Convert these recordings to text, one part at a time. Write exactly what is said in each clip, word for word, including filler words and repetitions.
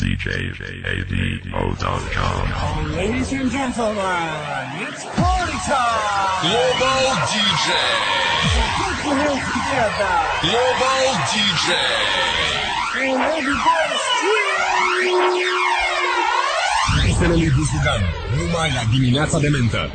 D J A D O dot com. Ladies and gentlemen, it's party time! Global D J! Put your hands together! Global D J! And everybody scream! Este Liviu Sugan, numai la dimineața de mentă.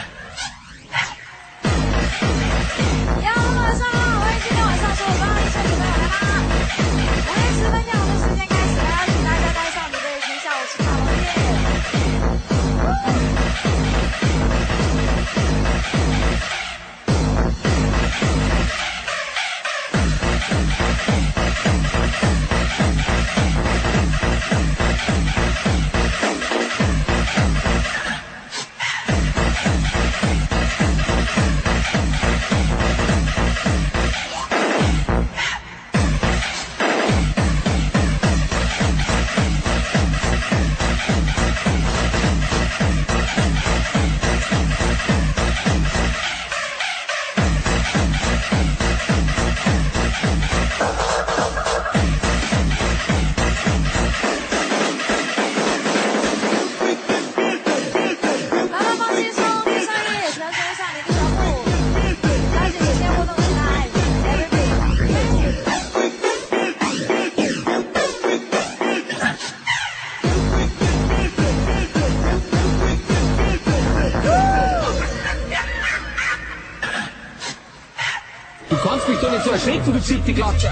Du kannst mich doch nicht so erschrecken, du Zitterklatscher.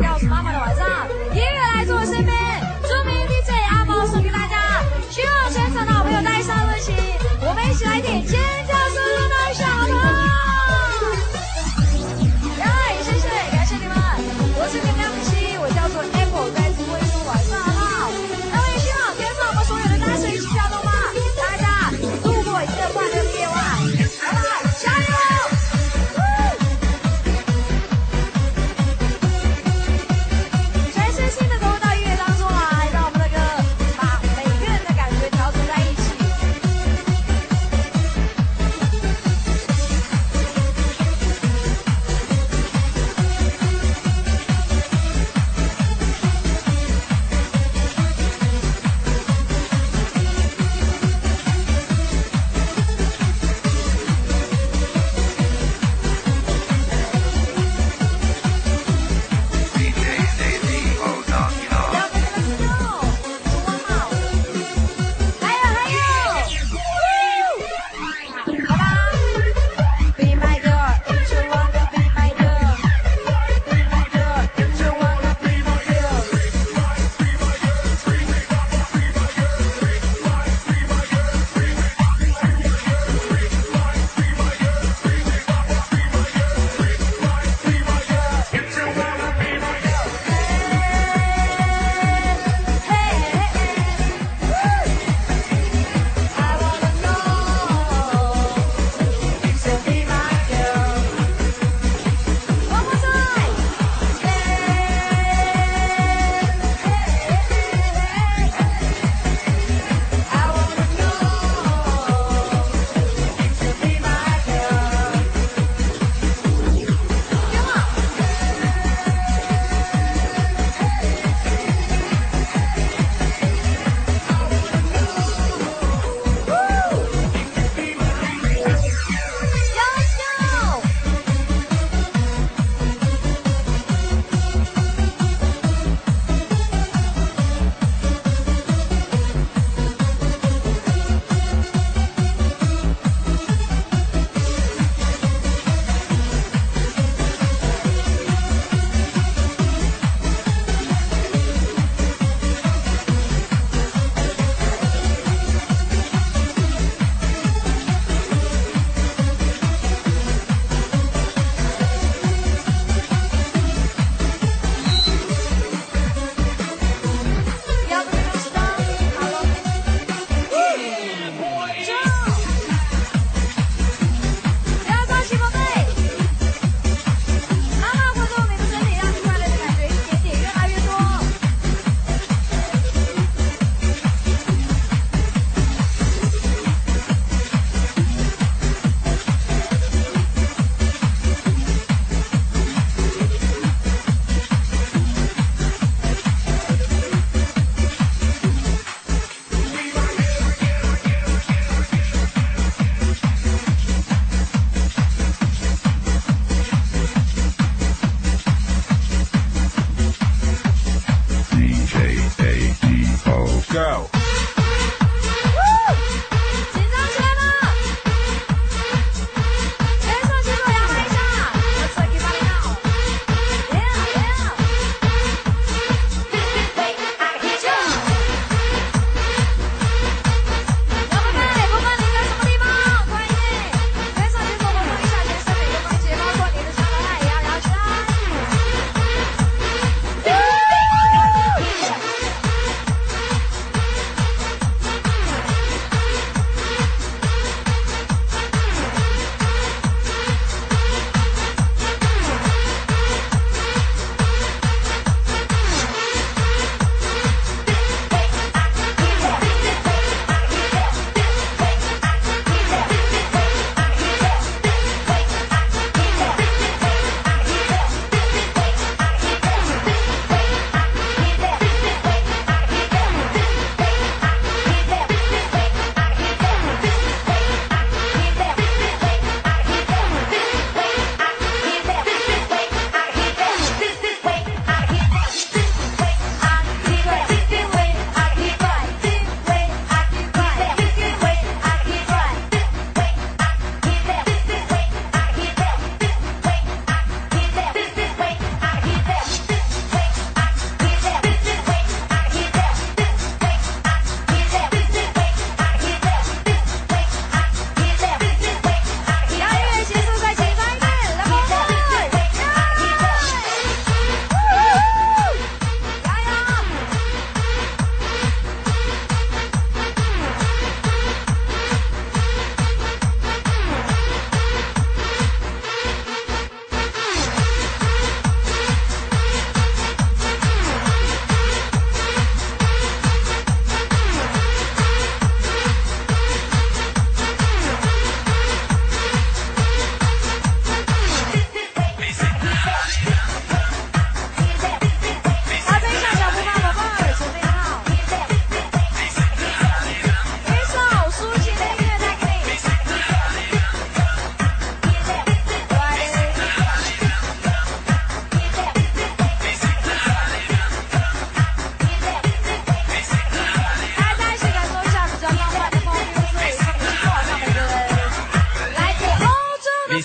告诉妈妈的晚上，音乐来自我身边，著名 D J 阿猫送给大家，希望全场的好朋友带上热情，我们一起来点尖叫声的小朋友。耶，谢谢，感谢你们，我是你们梁子琪，我叫做 Apple， 在直播中晚上好。那我也希望天上我们所有的大神一起跳动吧，大家度过一个快乐的夜晚，好不好？加油！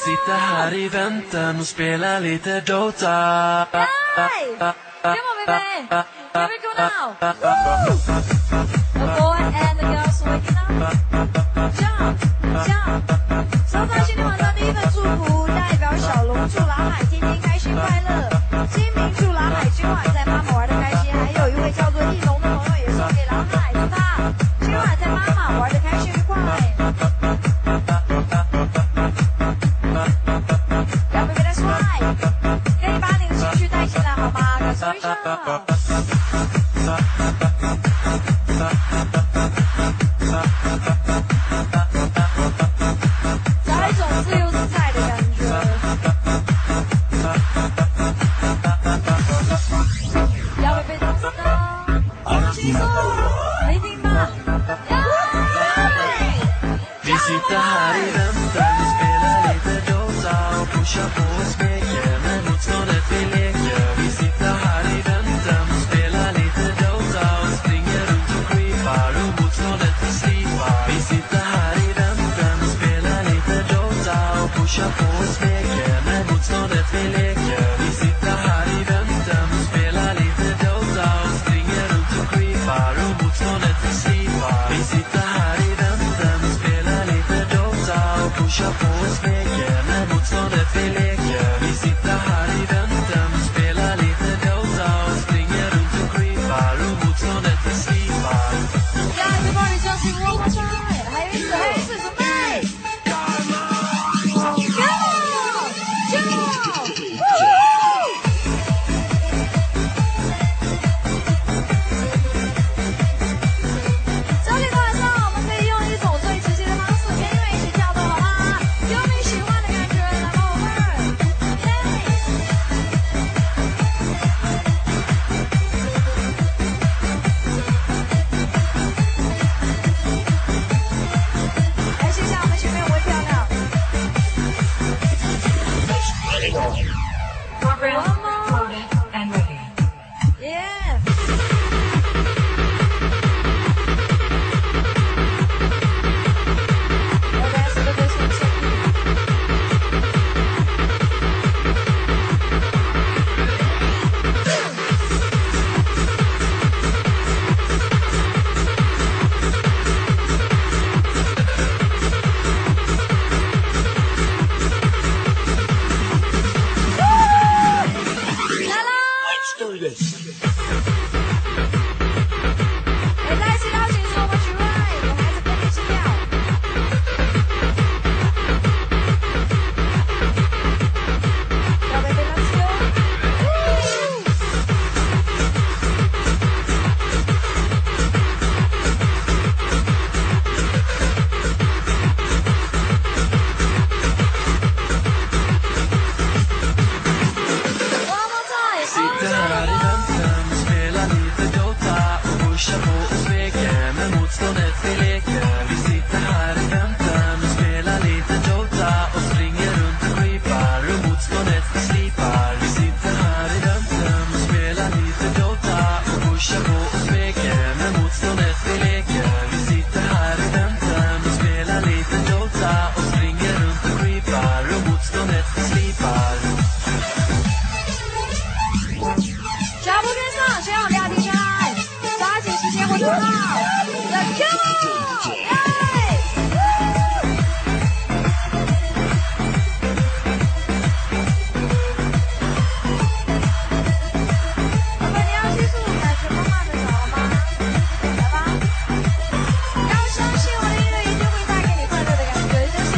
sitter här i väntan och spelar lite Dota. Hey! Come on, baby! Here we go now! The boy and the girls waking up. Jump! Jump! 收到今天晚上第一份祝福，代表小龙祝蓝海天天开心快乐。金明祝蓝海今晚在妈妈玩的开心，还有一位叫做翼龙的朋友也送给蓝海，祝他今晚在妈妈玩的开心愉快。要不别太帅，可以把你的情绪带进来好吗？感受一下。找一种自由自在的感觉。要不被冻死的，放轻松，没听吧？ Vi sitter här i väntan och spelar lite Dota och pushar på och smeker med motståndet vi leker. Vi sitter här i väntan och spelar lite Dota och springer runt och creepar och motståndet vi slipar. Vi sitter här i väntan och spelar lite Dota och pushar på och smeker med motståndet vi leker. Vi sitter här i väntan och spelar lite Dota och springer runt och creepar och motståndet vi slipar. Vi sitter här i väntan och spelar lite Dota och pushar på och smeker när motståndet vi leker. Vi sitter här i väntan och spelar lite Dota och springer runt och creepar och motståndet vi slipar. Ja, everybody just sing one more time. 还有一次，还有一次，准备。Come on, jump! Woo! 这里的晚上，我们可以用一种最直接的方式跟音乐一起跳动，好吗？有你喜欢的感觉，来吧，我们。来，谢谢我们前面微漂亮。 Program recorded and ready. Yeah. 我开始的对手是。来啦！哎，在一起邀请是我们曲瑞，我还是跟你一起跳。要不要跟他吃哦？One more time, Sitter här i väntan och spelar lite Dota och pushar på och smeker med motståndet vi leker. Vi sitter här i väntan och spelar lite Dota och springer runt och creepar och motståndet vi slipar. Vi sitter här i väntan och spelar lite Dota och pushar på och smeker med motståndet vi leker. Vi sitter här i väntan och spelar lite Dota och springer runt och creepar och motståndet vi slipar. 脚步跟上，千万不要停下来，抓紧时间活动好。Let's go！ 耶！宝贝，你要记住，感觉慢慢的找了吗？来吧！要相信我的音乐一定会带给你快乐的感觉，相信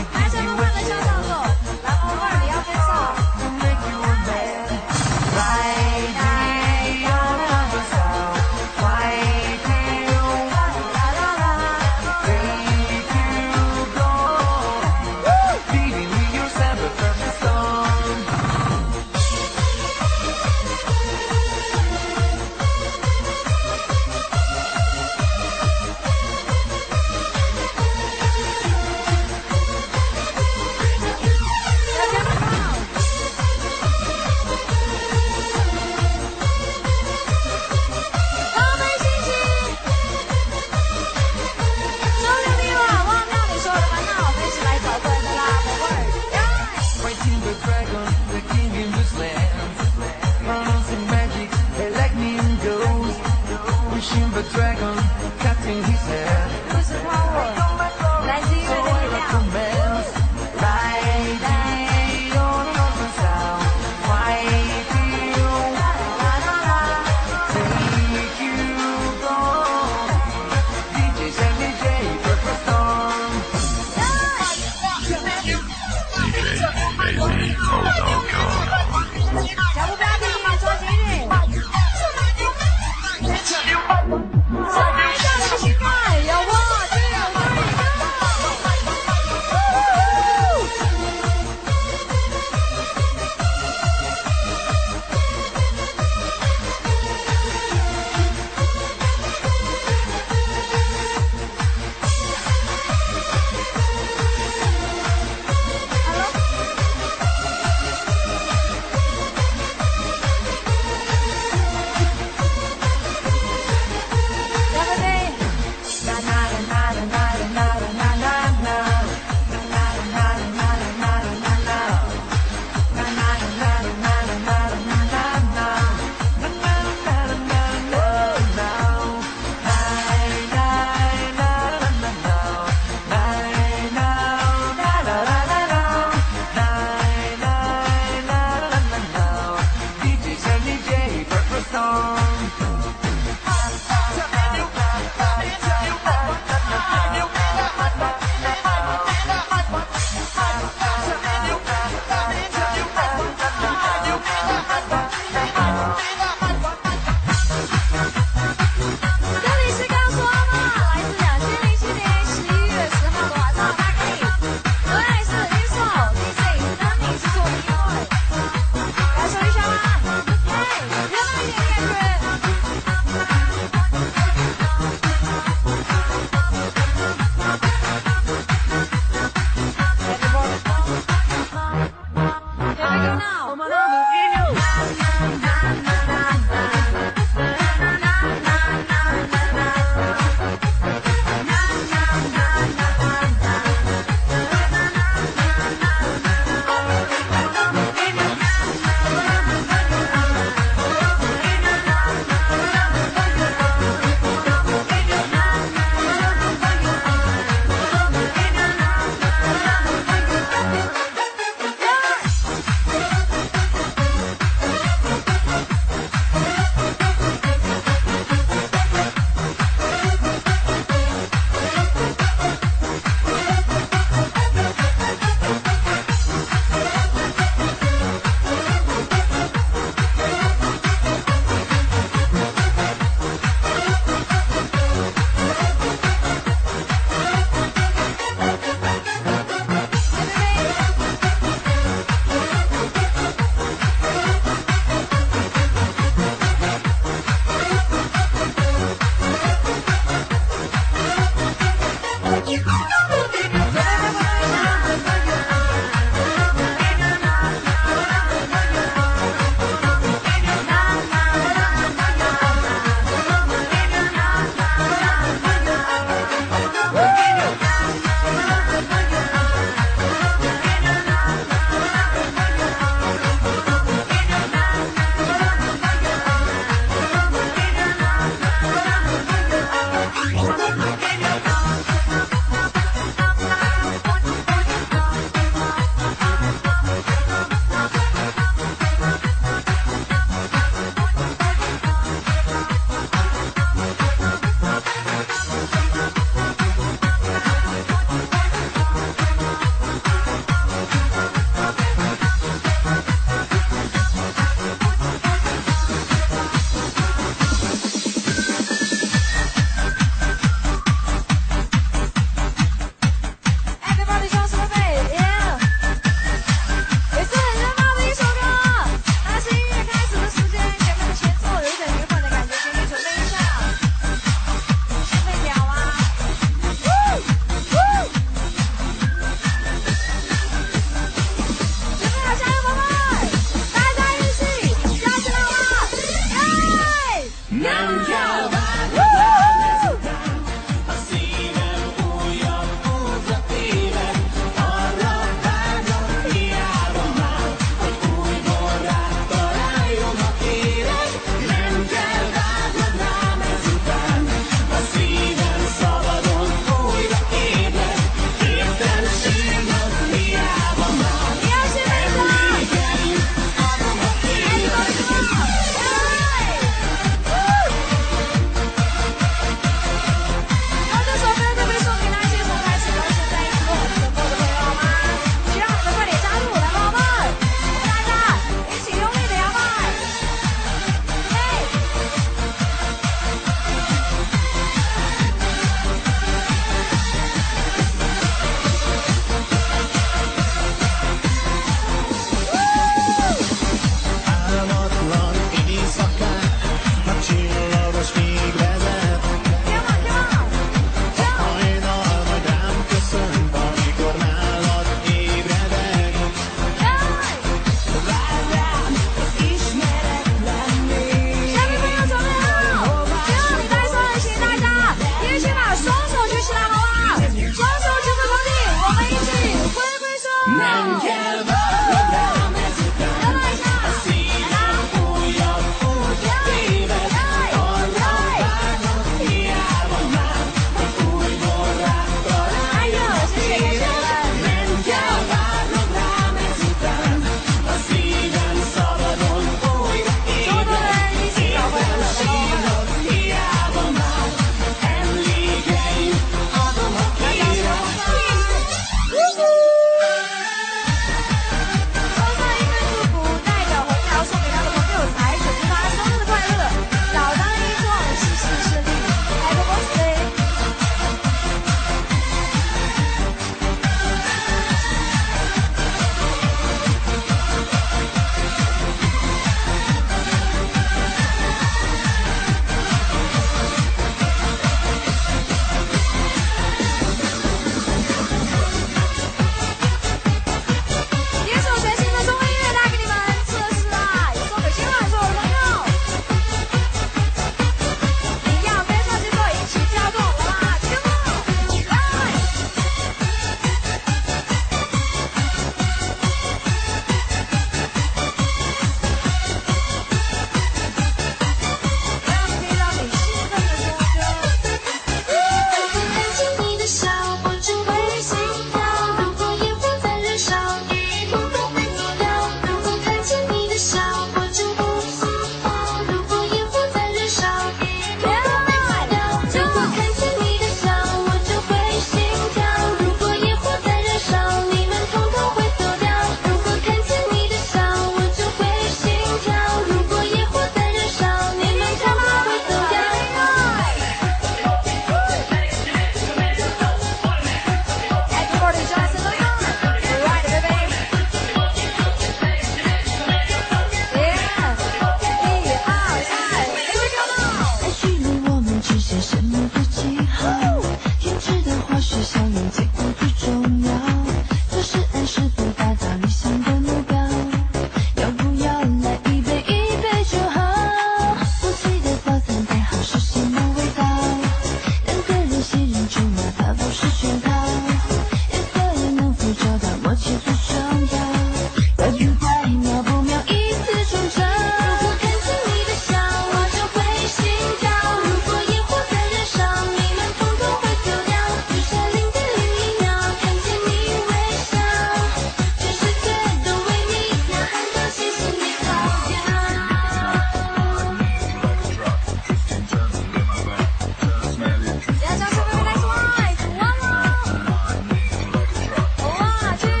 要将小妹妹带出来，完了！哇，去！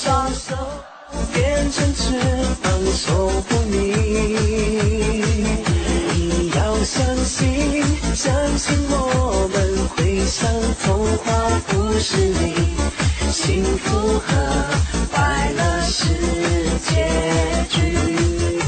双手变成翅膀守护你。你要相信，相信我们会像童话故事里，幸福和快乐是结局。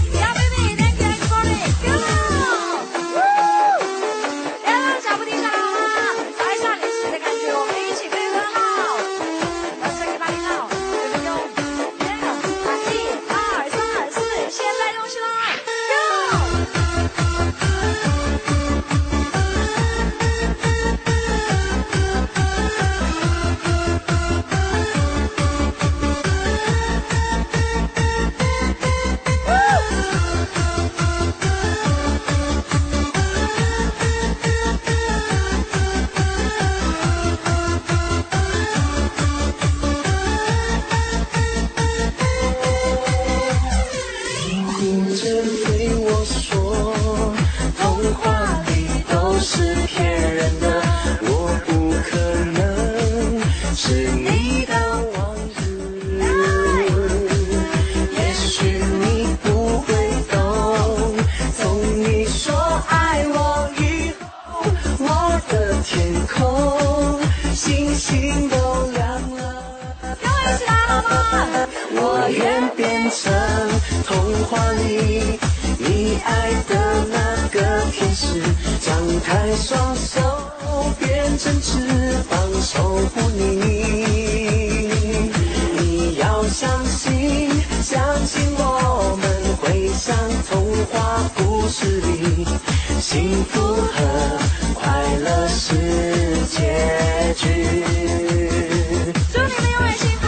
我愿变成童话里你爱的那个天使，张开双手变成翅膀守护你。你要相信，相信我们会像童话故事里，幸福和快乐是结局。祝你们永远幸福！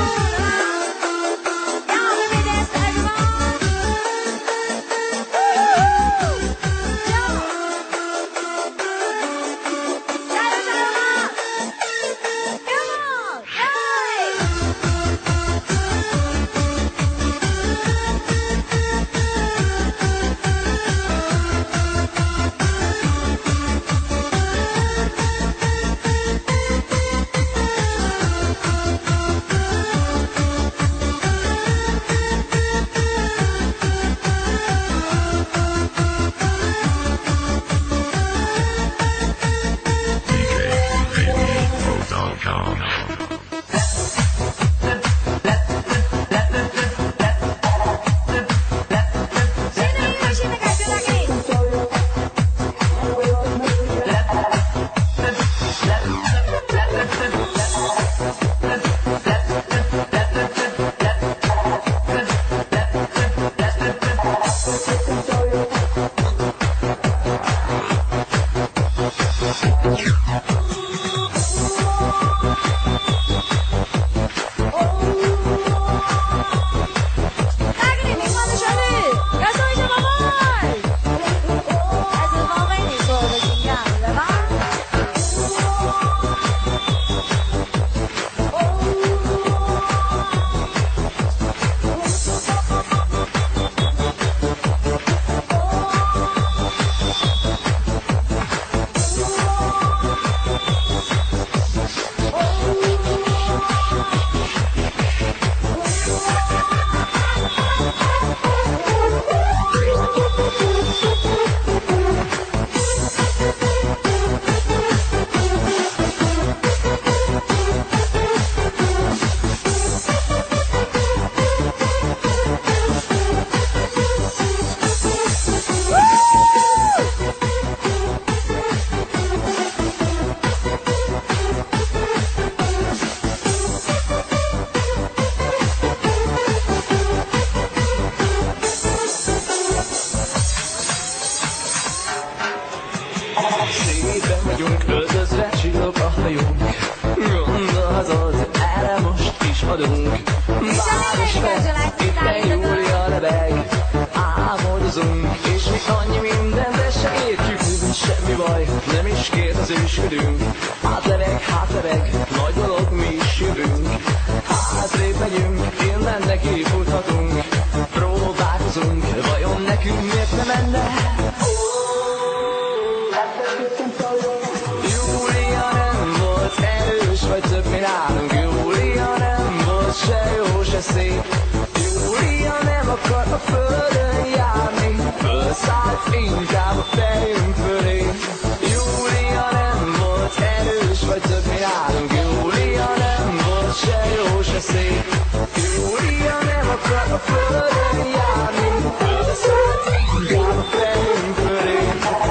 se. Julian var kort och före jag mig. För sagt inte var färgen för dig. Julian var tändus för typ min arm. Julian var tjej och tjej se. Julian var kort och före jag mig. För sagt inte var färgen för dig.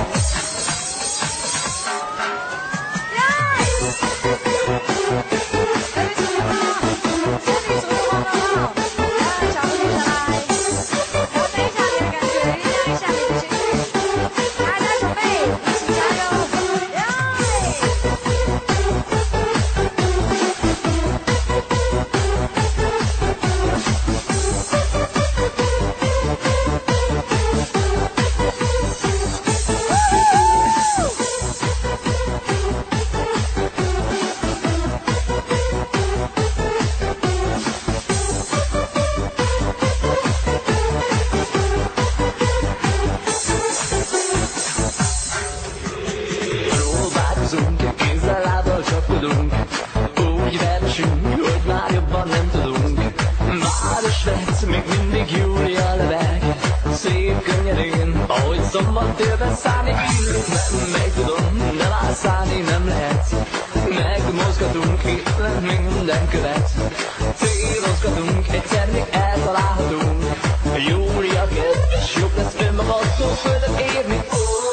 Som var döven sanning Men mig för dem Det var sanning nämlighet Meg du må skal dunke Men min den kuvett Til de skal dunke Tennik et og la dunk Jord jeg gett Sjuknes svimmer Mått og for den evig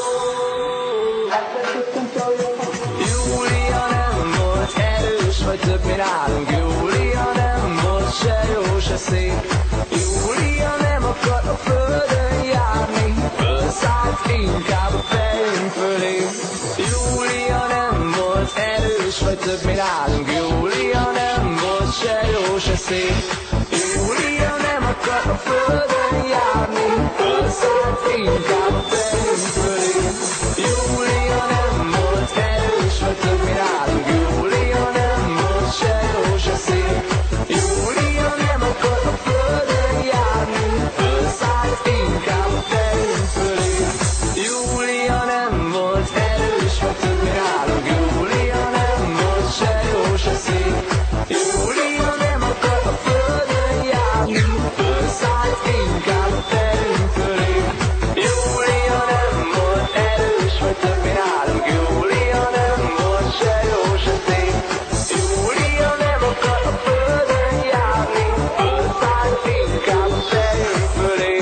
Julianen Vår terus Vart upp min arm Julianen Vår tjej och tjej se Julianen Vår kort och före jag mig Sagt inte var färgen för dig. Julianen var terus för typ min arm. Julianen var tjej och tjej se. Julianen var kort och före jag mig. Sagt inte var färgen för dig. Julianen var terus för typ min arm. Julianen var tjej och tjej se. Julianen var kort och före jag mig. Sagt inte var färgen för dig. Julianen var terus för typ min arm. Julianen var tjej och tjej se. Julianen var kort och före jag mig. Sagt inte var färgen för dig. Julianen var terus för typ min arm. Julianen var tjej och tjej se. Julianen var kort och före jag mig. Sagt inte var färgen för dig.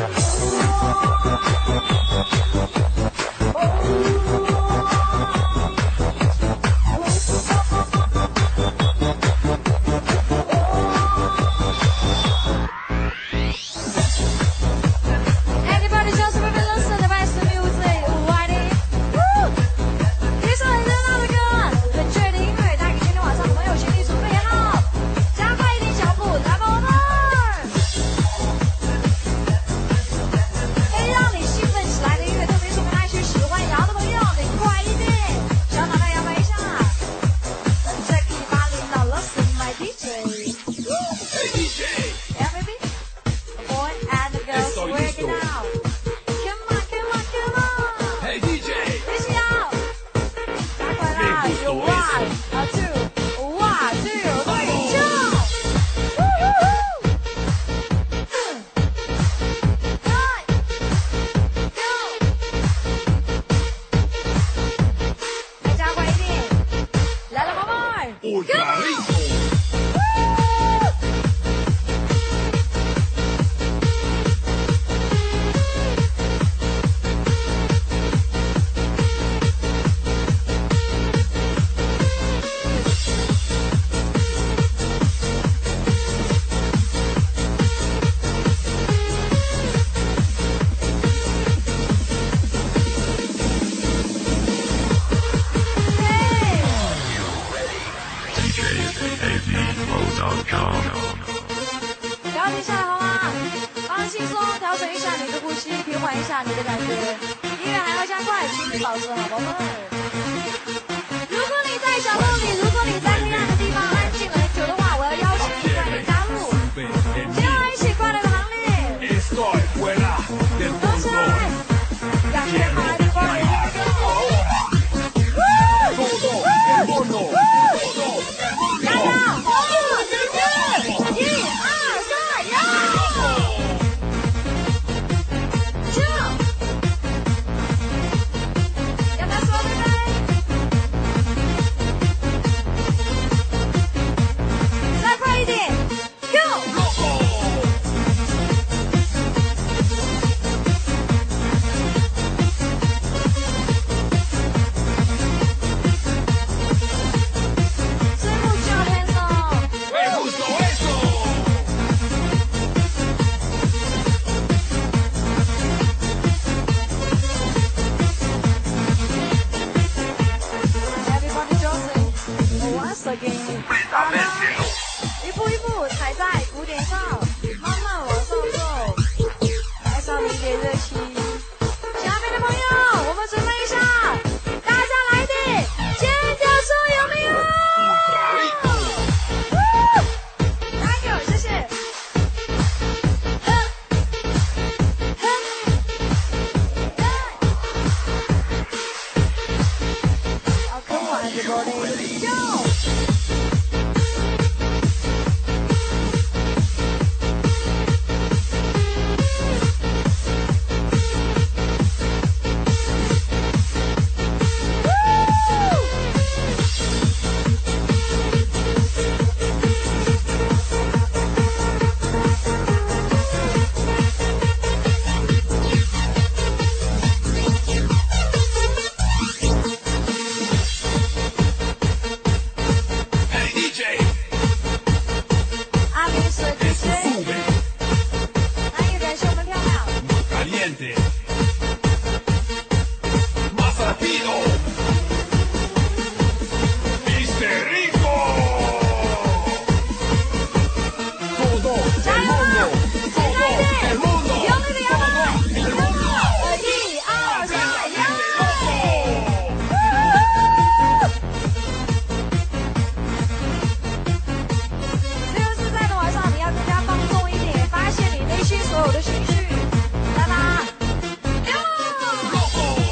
Everybody just remember listen to the best music, Whitey. Woo! 一首很热闹的歌，很醉的音乐，带给今天晚上的朋友心里准备好，加快一点脚步，来吧，我们！可以让你兴奋起来的音乐，特别是我们那些喜欢摇的朋友，你快一点，小脑袋摇摆一下。Check it out, now listen my D J. Hey D J Yeah, baby. The boy and the girls work it out. Come on, come on, come on. Hey D J 一起摇，加快啦！有 one, a two, one, two, three, jump! Woo, woo, woo! Nine, go! 再加快一点，来了，宝贝儿 Ultra Ritmo D J A D O dot com 调整下来好吗？放轻松，调整一下你的呼吸，平缓一下你的感觉。音乐还要加快，请你保持好，宝贝儿。如果你在角落里，如果你在黑暗的地方安静了很久的话，我要邀请你快点加入，接下来一起快乐的行列。 Estoy fuera del 动起来， control 感觉好的快乐。 Todo el mundo Todo el 大 mundo 家，四、一、二。 的兴趣，来吧，Go！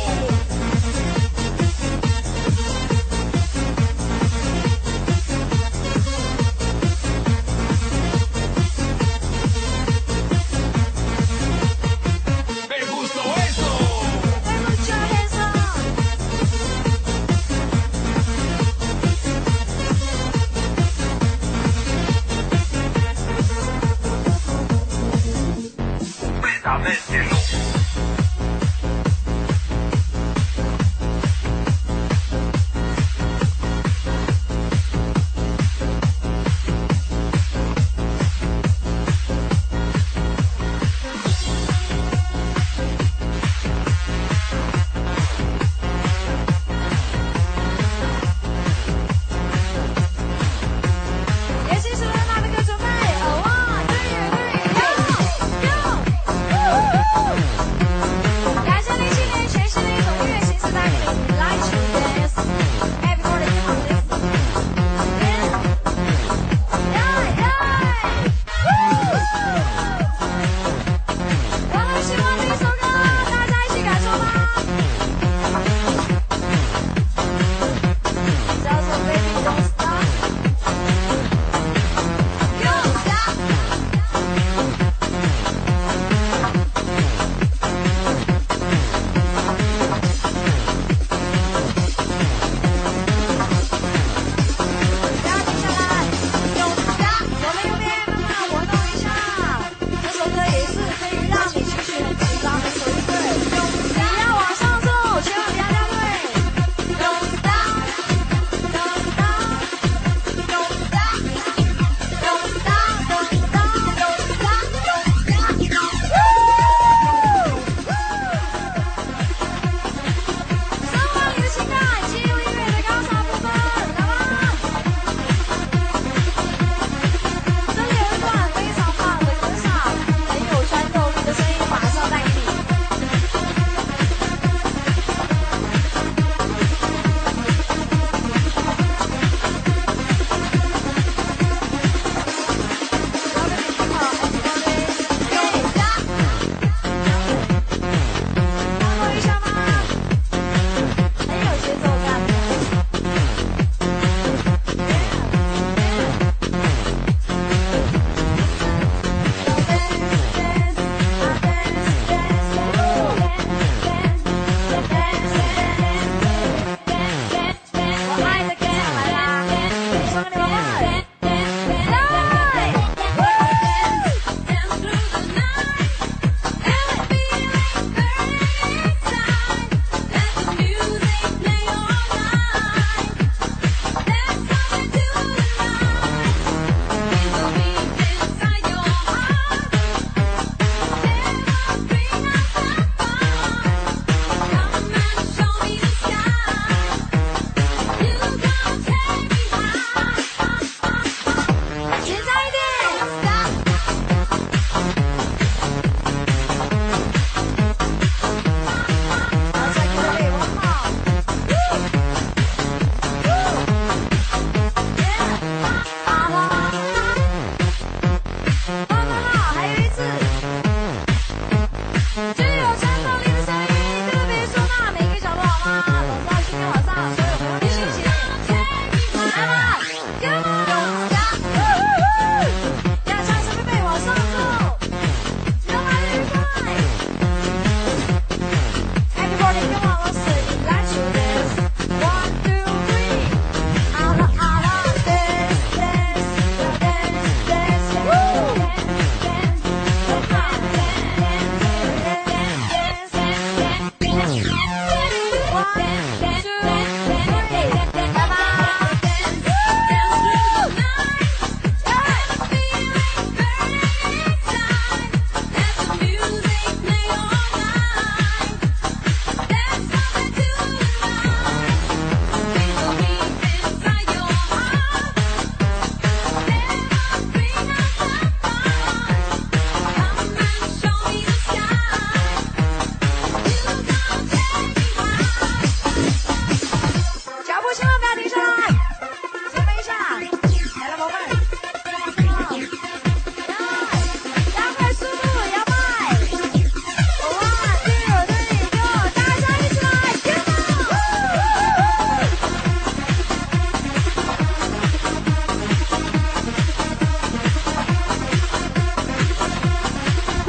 Me gustó eso. Put your hands up！也请所有大哥哥准备，one two three，go go！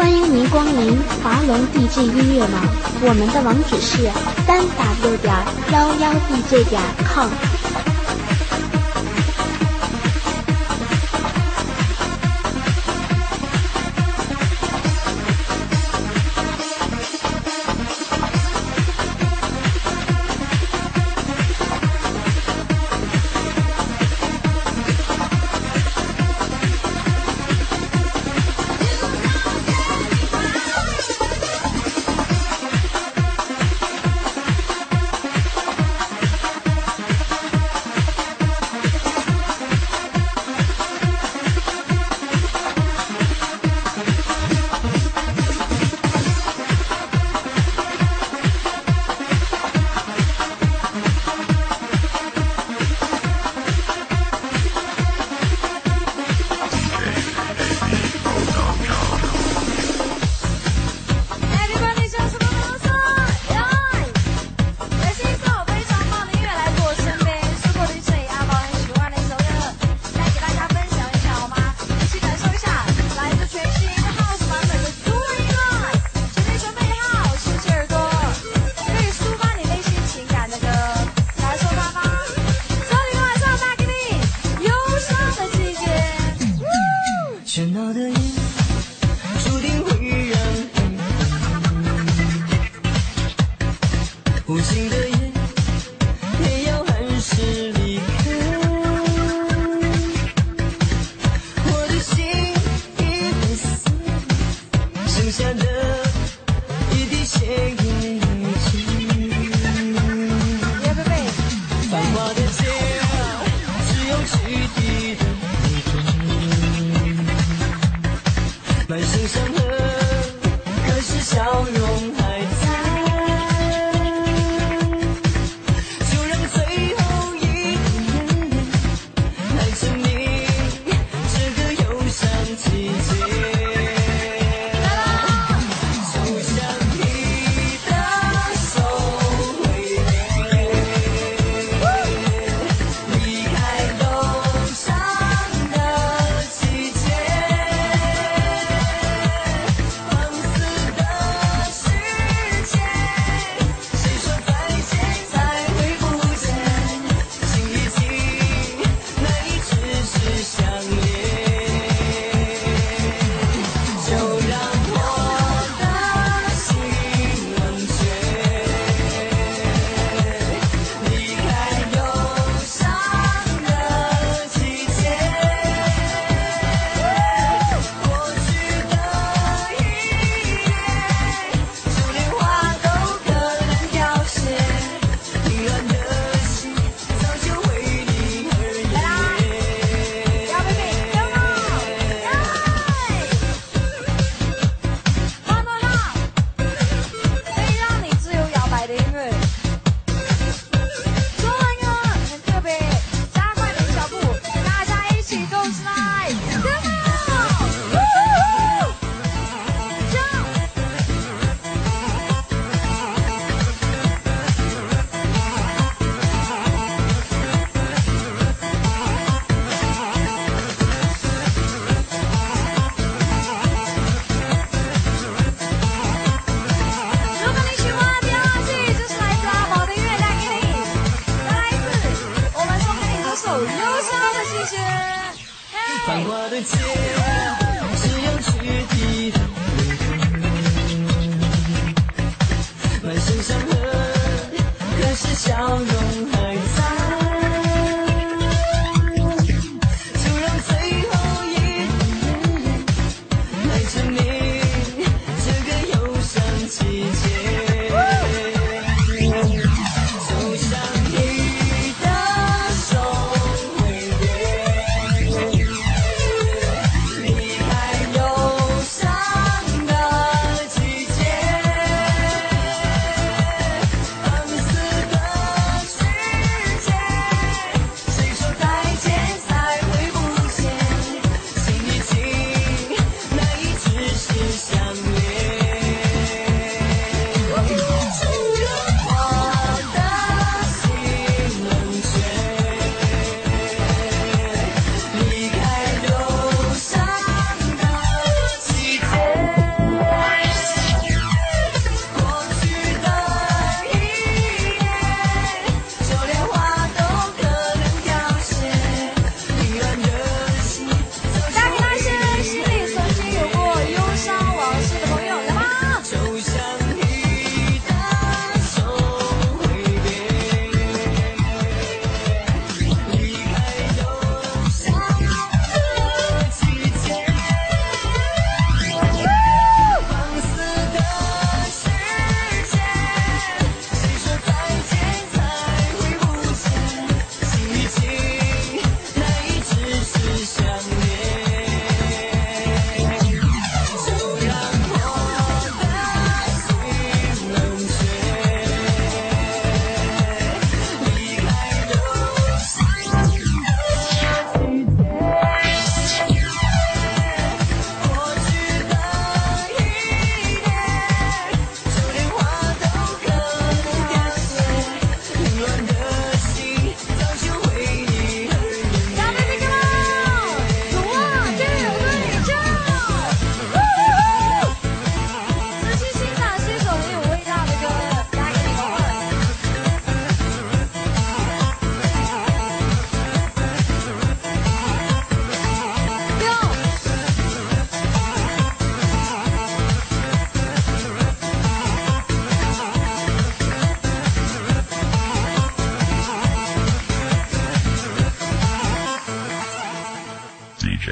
欢迎您光临华龙 D J 音乐网，我们的网址是三 w 点幺幺 D J 点 com。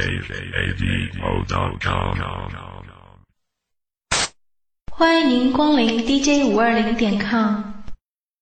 A V O dot com。 欢迎您光临 D J 五二零点 com。